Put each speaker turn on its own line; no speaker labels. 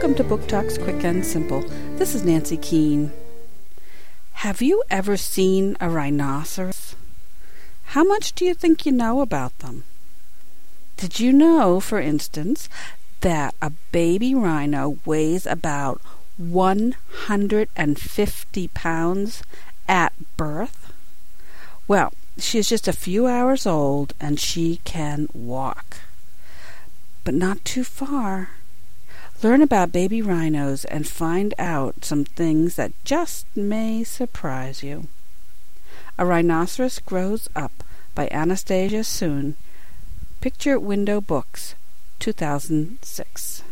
Welcome to Book Talks Quick and Simple. This is Nancy Keene. Have you ever seen a rhinoceros? How much do you think you know about them? Did you know, for instance, that a baby rhino weighs about 150 pounds at birth? Well, she is just a few hours old and she can walk. But not too far. Learn about baby rhinos and find out some things that just may surprise you. A Rhinoceros Grows Up by Anastasia Soon. Picture Window Books, 2006.